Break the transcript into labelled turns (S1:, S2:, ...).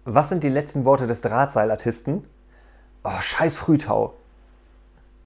S1: Was sind die letzten Worte des Drahtseilartisten? Oh, scheiß Frühtau.